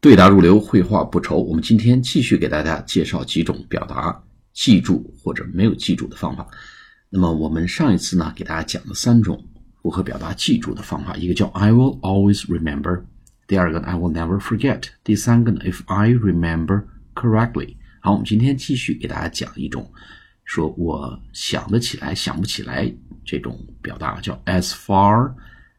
对答如流，绘画不愁。我们今天继续给大家介绍几种表达记住或者没有记住的方法。那么我们上一次呢，给大家讲了3种如何表达记住的方法，一个叫 I will always remember， 第二个 I will never forget， 第三个呢 If I remember correctly。 好，我们今天继续给大家讲一种说我想得起来想不起来这种表达，叫 As far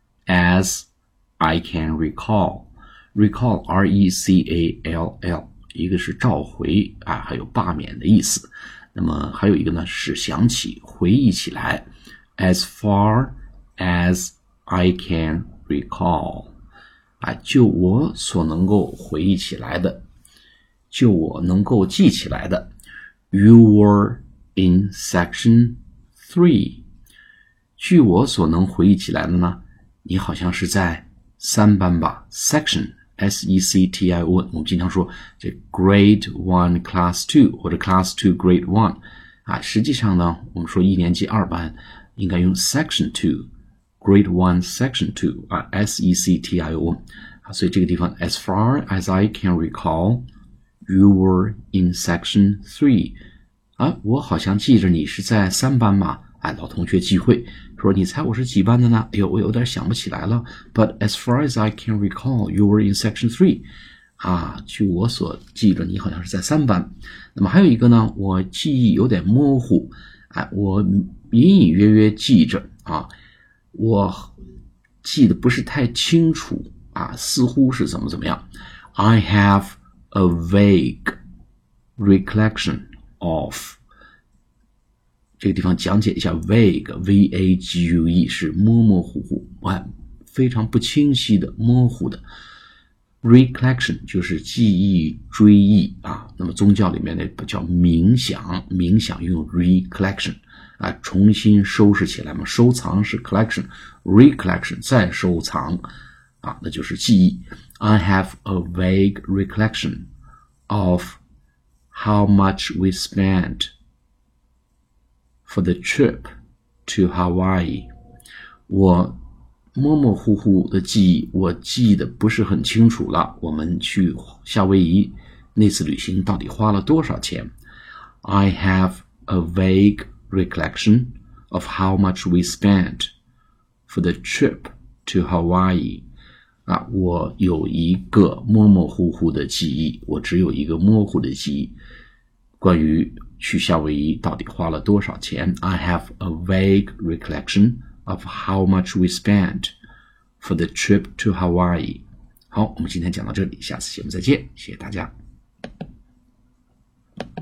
as I can recall。Recall R-E-C-A-L-L， 一个是召回还有罢免的意思。那么还有一个呢是想起回忆起来 As far as I can recall， 就我所能够回忆起来的，就我能够记起来的。 You were in section 3， 据我所能回忆起来的呢，你好像是在3班吧。 Section S-E-C-T-I-O-N， 我们经常说这 Grade 1 Class 2 或者 Class 2 Grade 1实际上呢，我们说1年级2班应该用 Section 2 Grade 1 Section 2 S-E-C-T-I-O-N 所以这个地方 As far as I can recall You were in Section 3我好像记着你是在3班嘛。老同学聚会说你猜我是几班的呢？我有点想不起来了。 But as far as I can recall You were in section 3据我所记着你好像是在3班。那么还有一个呢，我记忆有点模糊我隐隐约约记着我记得不是太清楚似乎是怎么样。 I have a vague recollection of，这个地方讲解一下 vague V-A-G-U-E 是模模糊糊非常不清晰的模糊的。 recollection 就是记忆追忆那么宗教里面呢叫冥想，冥想用 recollection重新收拾起来嘛，收藏是 collection， recollection 再收藏那就是记忆。 I have a vague recollection of how much we spent for the trip to Hawaii。 我模模糊糊的记忆，我记得不是很清楚了，我们去夏威夷那次旅行到底花了多少钱。 I have a vague recollection of how much we spent for the trip to Hawaii。我有一个模模糊糊的记忆，我只有一个模糊的记忆，关于去夏威夷到底花了多少钱。 I have a vague recollection of how much we spent for the trip to Hawaii。 好，我们今天讲到这里，下次节目再见，谢谢大家。